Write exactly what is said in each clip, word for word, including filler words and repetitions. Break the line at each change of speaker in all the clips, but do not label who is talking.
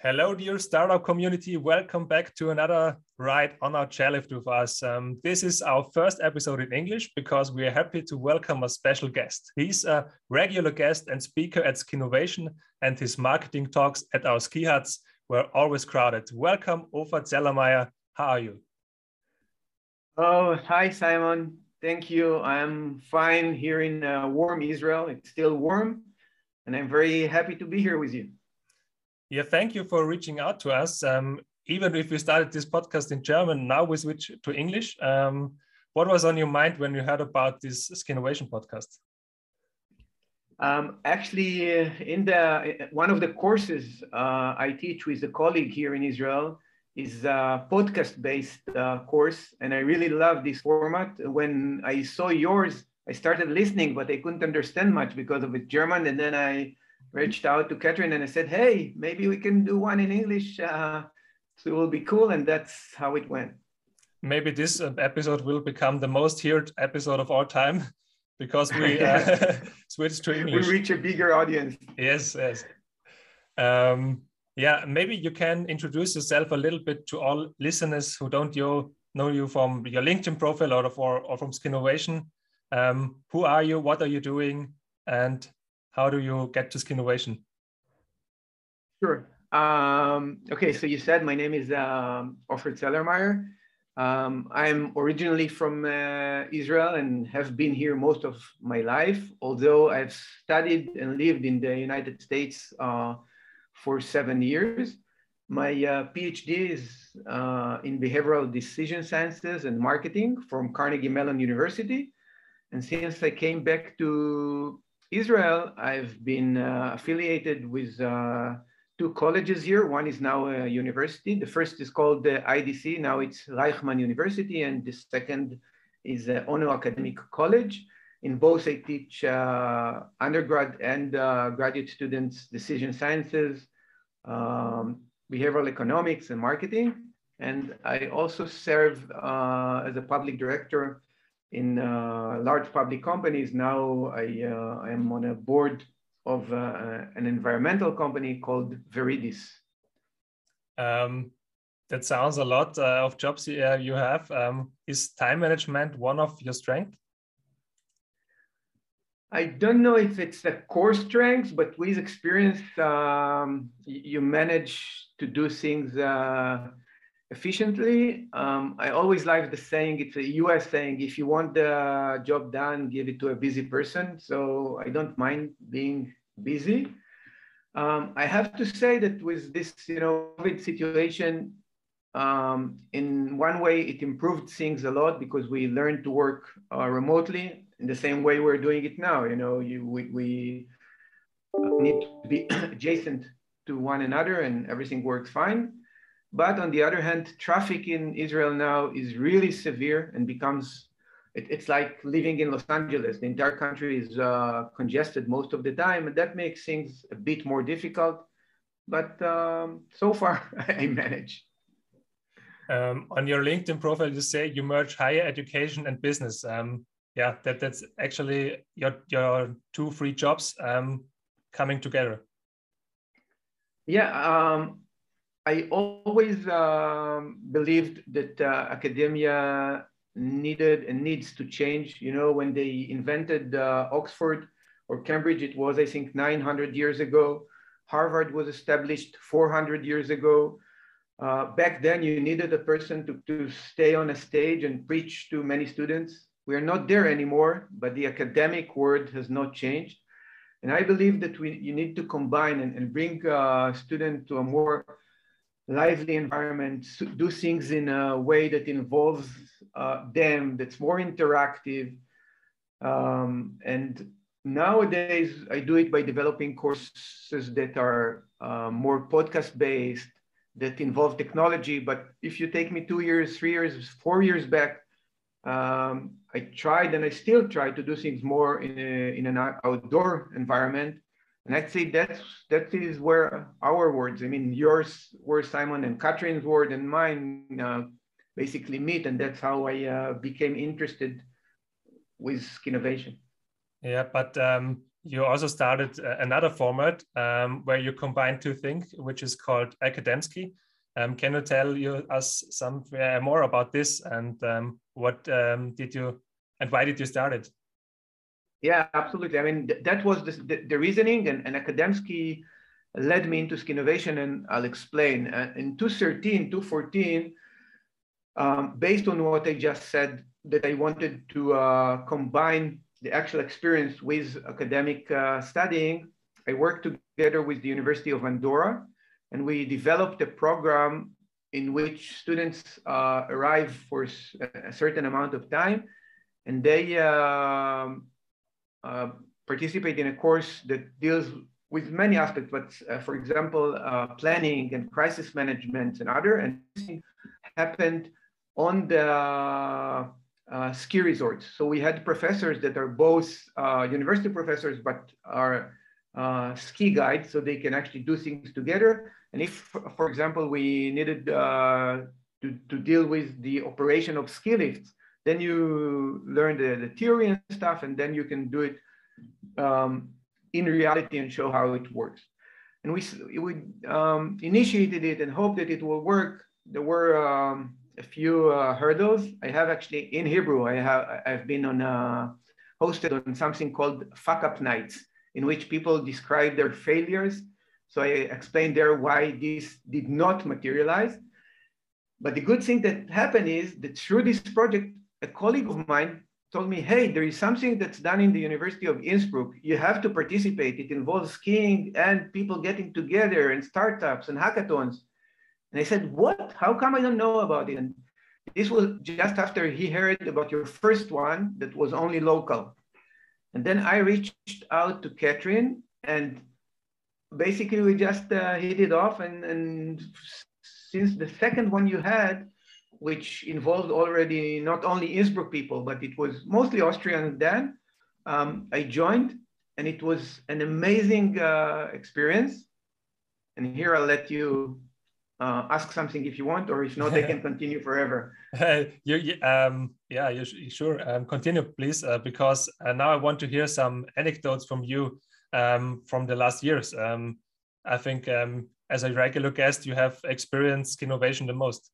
Hello, dear startup community. Welcome back to another ride on our chairlift with us. Um, this is our first episode in English because we are happy to welcome a special guest. He's a regular guest and speaker at Skinovation, and his marketing talks at our ski huts were always crowded. Welcome, Ofer Zellermeyer. How are you?
Oh, hi, Simon. Thank you. I'm fine here in uh, warm Israel. It's still warm, and I'm very happy to be here with you.
Yeah, thank you for reaching out to us. Um, even if we started this podcast in German, now we switch to English. Um, what was on your mind when you heard about this Skinovation podcast?
Um, actually, uh, in the one of the courses uh, I teach with a colleague here in Israel is a podcast-based uh, course, and I really love this format. When I saw yours, I started listening, but I couldn't understand much because of it's German, and then I reached out to Catherine and I said, hey, maybe we can do one in English. Uh, so it will be cool. And that's how it went.
Maybe this episode will become the most heard episode of all time because we uh, switched to English.
We reach a bigger audience.
Yes, yes. Um, yeah, maybe you can introduce yourself a little bit to all listeners who don't you, know you from your LinkedIn profile or, or, or from Skinovation. Um, who are you? What are you doing? And how do you get to Skinovation?
Sure. Um, okay, so you said my name is um, Ofer Zellermeyer. Um, I'm originally from uh, Israel and have been here most of my life, although I've studied and lived in the United States uh, for seven years. My uh, PhD is uh, in behavioral decision sciences and marketing from Carnegie Mellon University. And since I came back to Israel, I've been uh, affiliated with uh, two colleges here. One is now a university. The first is called the I D C. Now it's Reichman University. And the second is uh, Ono Academic College. In both, I teach uh, undergrad and uh, graduate students decision sciences, um, behavioral economics, and marketing. And I also serve uh, as a public director in uh, large public companies. Now I uh, am on a board of uh, an environmental company called Veridis.
Um, that sounds a lot uh, of jobs uh, you have. Um, is time management one of your strengths?
I don't know if it's a core strength, but with experience, um, you manage to do things uh, efficiently. Um, I always like the saying, it's a U S saying, if you want the job done, give it to a busy person. So I don't mind being busy. Um, I have to say that with this, you know, COVID situation, um, in one way, it improved things a lot because we learned to work uh, remotely in the same way we're doing it now. You know, you, we, we need to be adjacent to one another and everything works fine. But on the other hand, traffic in Israel now is really severe and becomes, it, it's like living in Los Angeles. The entire country is uh, congested most of the time, and that makes things a bit more difficult. But um, so far, I manage.
Um, on your LinkedIn profile, you say you merge higher education and business. Um, yeah, that, that's actually your, your two free jobs um, coming together.
Yeah. Um, I always um, believed that uh, academia needed and needs to change. You know, when they invented uh, Oxford or Cambridge, it was, I think, nine hundred years ago. Harvard was established four hundred years ago. Uh, back then, you needed a person to, to stay on a stage and preach to many students. We are not there anymore, but the academic world has not changed. And I believe that we, you need to combine and, and bring a student to a more lively environment, do things in a way that involves uh, them, that's more interactive. Um, and nowadays, I do it by developing courses that are uh, more podcast-based, that involve technology. But if you take me two years, three years, four years back, um, I tried and I still try to do things more in, a, in an outdoor environment. And I'd say that's, that is where our words, I mean, yours word, Simon, and Catherine's word and mine uh, basically meet. And that's how I uh, became interested with Skinovation.
Yeah, but um, you also started another format um, where you combine two things, which is called Akademski. Um, can you tell you us some uh, more about this, and um, what um, did you and why did you start it?
Yeah, absolutely. I mean, th that was the, the, the reasoning, and, and Akademski led me into Skinovation, and I'll explain. Uh, in two thirteen, two fourteen, um, based on what I just said, that I wanted to uh, combine the actual experience with academic uh, studying, I worked together with the University of Andorra, and we developed a program in which students uh, arrive for a certain amount of time, and they uh, uh, participate in a course that deals with many aspects, but uh, for example, uh, planning and crisis management and other, and happened on the uh, ski resorts. So we had professors that are both uh, university professors, but are uh, ski guides, so they can actually do things together. And if, for example, we needed uh, to, to deal with the operation of ski lifts, then you learn the, the theory and stuff, and then you can do it um, in reality and show how it works. And we, we um, initiated it and hoped that it will work. There were um, a few uh, hurdles. I have actually, in Hebrew, I have, I've been on, uh, hosted on something called fuck up nights, in which people describe their failures. So I explained there why this did not materialize. But the good thing that happened is that through this project, a colleague of mine told me, hey, there is something that's done in the University of Innsbruck. You have to participate. It involves skiing and people getting together and startups and hackathons. And I said, what? How come I don't know about it? And this was just after he heard about your first one that was only local. And then I reached out to Catherine, and basically we just uh, hit it off. And, and since the second one you had, which involved already not only Innsbruck people, but it was mostly Austrian then, um, I joined, and it was an amazing uh, experience. And here I'll let you uh, ask something if you want, or if not, I can continue forever.
you, you, um, yeah, you, you sure. Um, continue, please, uh, because uh, now I want to hear some anecdotes from you um, from the last years. Um, I think um, as a regular guest, you have experienced innovation the most.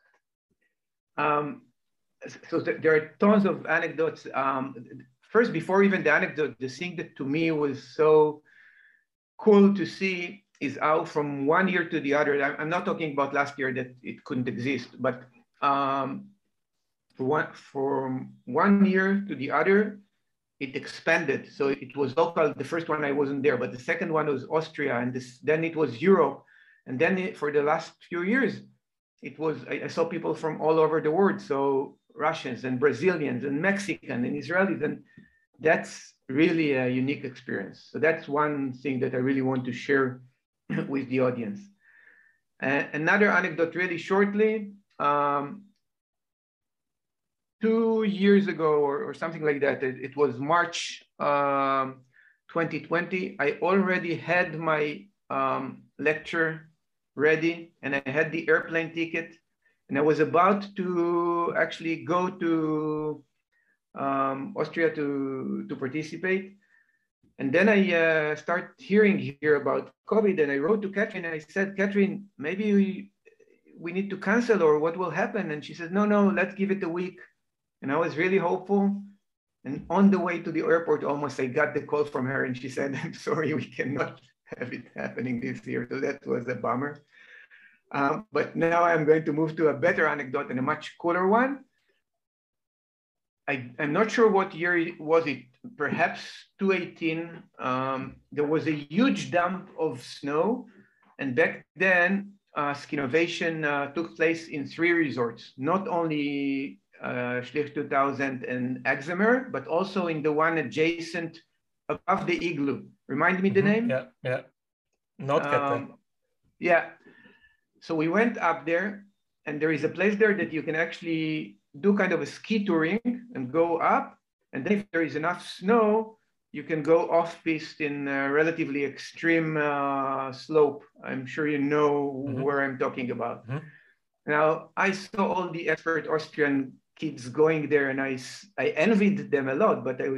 Um, so th there are tons of anecdotes. Um, first, before even the anecdote, the thing that to me was so cool to see is how from one year to the other, I'm not talking about last year that it couldn't exist, but um, for one, from one year to the other, it expanded. So it was local. The first one I wasn't there, but the second one was Austria, and this, then it was Europe. And then it, for the last few years, it was, I, I saw people from all over the world. So Russians and Brazilians and Mexicans and Israelis, and that's really a unique experience. So that's one thing that I really want to share with the audience. Uh, another anecdote really shortly, um, two years ago or, or something like that, it, it was March um, twenty twenty, I already had my um, lecture ready, and I had the airplane ticket, and I was about to actually go to um, Austria to, to participate. And then I uh, start hearing here about COVID, and I wrote to Catherine, and I said, Catherine, maybe we, we need to cancel, or what will happen? And she said, no, no, let's give it a week. And I was really hopeful. And on the way to the airport, almost I got the call from her, and she said, I'm sorry, we cannot have it happening this year. So that was a bummer. Um, but now I'm going to move to a better anecdote and a much cooler one. I, I'm not sure what year was it, perhaps two eighteen. Um, there was a huge dump of snow. And back then, uh, Skinovation uh, took place in three resorts, not only uh, Schlich two thousand and Axemer, but also in the one adjacent above the igloo. Remind me the
Mm-hmm.
name?
Yeah, yeah. Not
um, Yeah. So we went up there, and there is a place there that you can actually do kind of a ski touring and go up. And then if there is enough snow, you can go off-piste in a relatively extreme uh, slope. I'm sure you know mm-hmm. where I'm talking about. Mm-hmm. Now, I saw all the expert Austrian kids going there, and I, I envied them a lot, but I,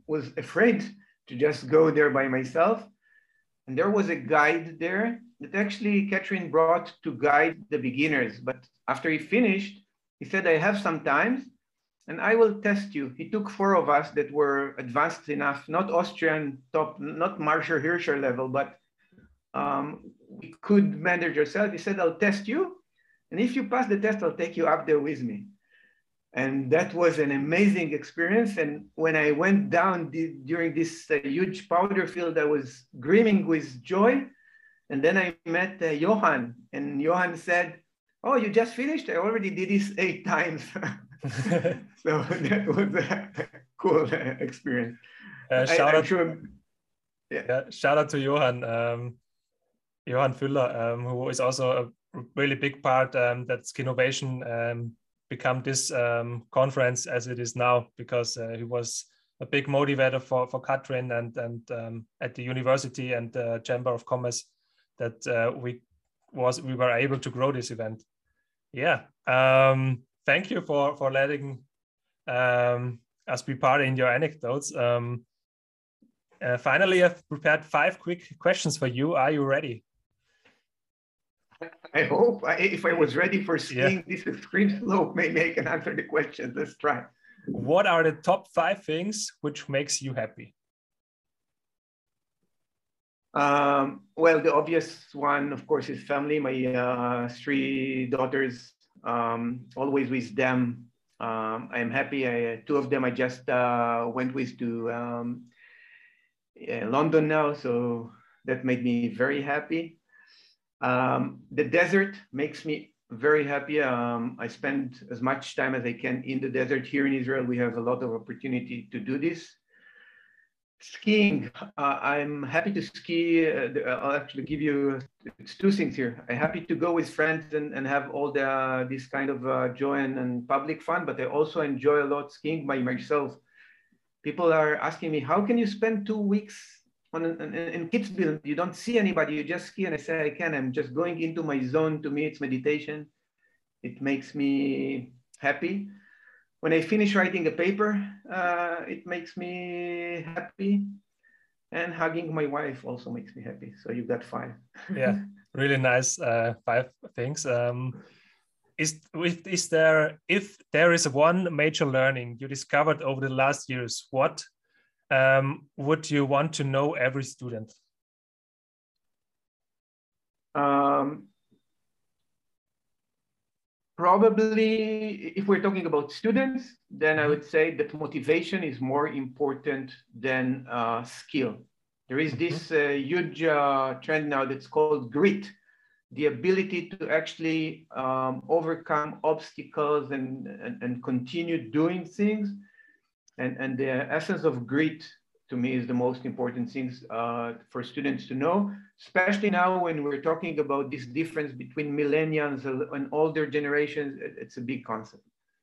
was afraid to just go there by myself. And there was a guide there that actually Catherine brought to guide the beginners. But after he finished, he said, I have some time and I will test you. He took four of us that were advanced enough, not Austrian top, not Marsha Hirscher level, but um, we could manage ourselves. He said, I'll test you. And if you pass the test, I'll take you up there with me. And that was an amazing experience. And when I went down the, during this uh, huge powder field, I was screaming with joy. And then I met uh, Johan, and Johan said, oh, you just finished? I already did this eight times. So that was a cool uh, experience.
Uh, shout,
I,
out,
sure,
yeah. Yeah, shout out to Johan, um, Johan Füller, um, who is also a really big part um, that Skinovation um, become this um, conference as it is now, because uh, he was a big motivator for, for Katrin and, and um, at the university and the Chamber of Commerce that uh, we was we were able to grow this event. Yeah, um, thank you for, for letting um, us be part in your anecdotes. Um, uh, finally, I've prepared five quick questions for you. Are you ready?
I hope. I, if I was ready for skiing,
yeah.
this extreme slope, maybe I can answer the question. Let's try.
What are the top five things which makes you happy?
Um, well, the obvious one, of course, is family. My uh, three daughters, um, always with them. Um, I'm happy. I, two of them I just uh, went with to um, yeah, London now, so that made me very happy. Um, the desert makes me very happy. Um, I spend as much time as I can in the desert. Here in Israel, we have a lot of opportunity to do this. Skiing, uh, I'm happy to ski. Uh, I'll actually give you it's two things here. I'm happy to go with friends and, and have all the uh, this kind of uh, joy and, and public fun, but I also enjoy a lot skiing by myself. People are asking me, how can you spend two weeks on an, an, in Kitzbühel? You don't see anybody, you just ski. And I say, I can. I'm just going into my zone. To me, it's meditation. It makes me happy. When I finish writing a paper, uh, it makes me happy. And hugging my wife also makes me happy. So you got five.
Yeah, really nice uh, five things. Um, is, is there, if there is one major learning you discovered over the last years, what um, would you want to know every student?
Um, Probably, if we're talking about students, then I would say that motivation is more important than uh, skill. There is this uh, huge uh, trend now that's called grit, the ability to actually um, overcome obstacles and, and, and continue doing things. And, and the essence of grit, to me, is the most important things uh, for students to know, especially now when we're talking about this difference between millennials and older generations. It's a big concept.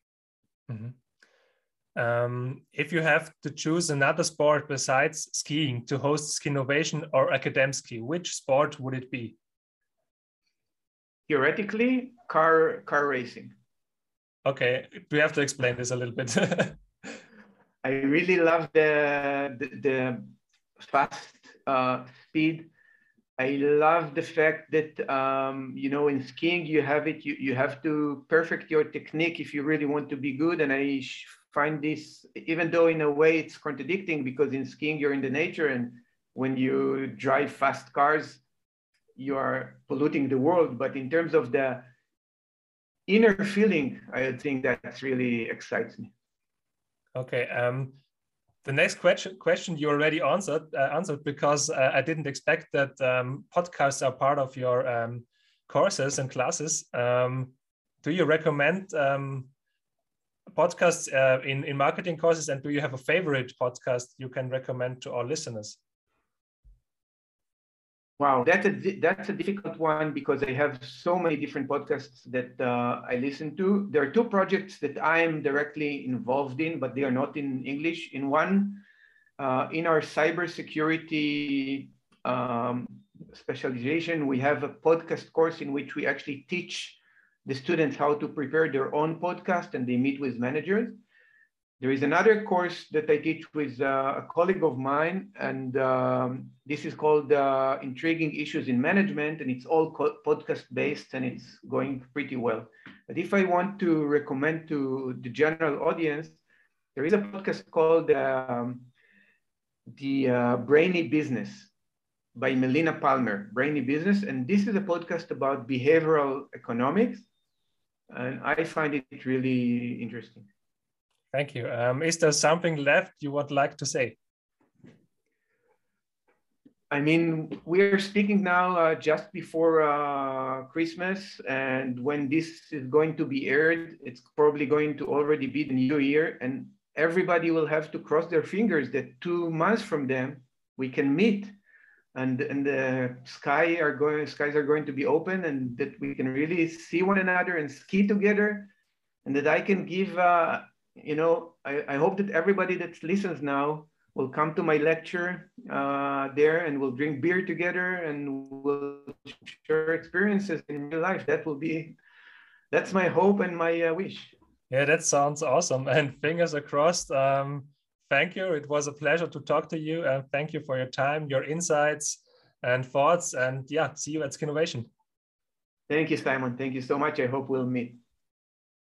Mm-hmm. Um, if you have to choose another sport besides skiing to host Skinovation or Akademski, which sport would it be?
Theoretically, car, car racing.
Okay, we have to explain this a little bit.
I really love the, the, the fast uh, speed. I love the fact that, um, you know, in skiing, you have it, you, you have to perfect your technique if you really want to be good. And I find this, even though in a way it's contradicting, because in skiing, you're in the nature. And when you drive fast cars, you are polluting the world. But in terms of the inner feeling, I think that really excites me.
Okay. Um, the next question question you already answered uh, answered because uh, I didn't expect that um, podcasts are part of your um, courses and classes. Um, do you recommend um, podcasts uh, in in marketing courses, and do you have a favorite podcast you can recommend to our listeners?
Wow, that's a that's a difficult one because I have so many different podcasts that uh, I listen to. There are two projects that I am directly involved in, but they are not in English. In one, uh, in our cybersecurity um, specialization, we have a podcast course in which we actually teach the students how to prepare their own podcast, and they meet with managers. There is another course that I teach with uh, a colleague of mine, and um, this is called uh, Intriguing Issues in Management, and it's all podcast-based, and it's going pretty well. But if I want to recommend to the general audience, there is a podcast called um, The uh, Brainy Business by Melina Palmer, Brainy Business, and this is a podcast about behavioral economics, and I find it really interesting.
Thank you. Um, is there something left you would like to say?
I mean, we're speaking now uh, just before uh, Christmas, and when this is going to be aired, it's probably going to already be the new year, and everybody will have to cross their fingers that two months from them we can meet, and and the sky are going skies are going to be open, and that we can really see one another and ski together, and that I can give. Uh, You know, I, I hope that everybody that listens now will come to my lecture uh, there, and we'll drink beer together and we'll share experiences in real life. That will be, that's my hope and my uh, wish.
Yeah, that sounds awesome. And fingers are crossed. Um, thank you. It was a pleasure to talk to you. And thank you for your time, your insights and thoughts. And yeah, see you at Skinnovation.
Thank you, Simon. Thank you so much. I hope we'll meet.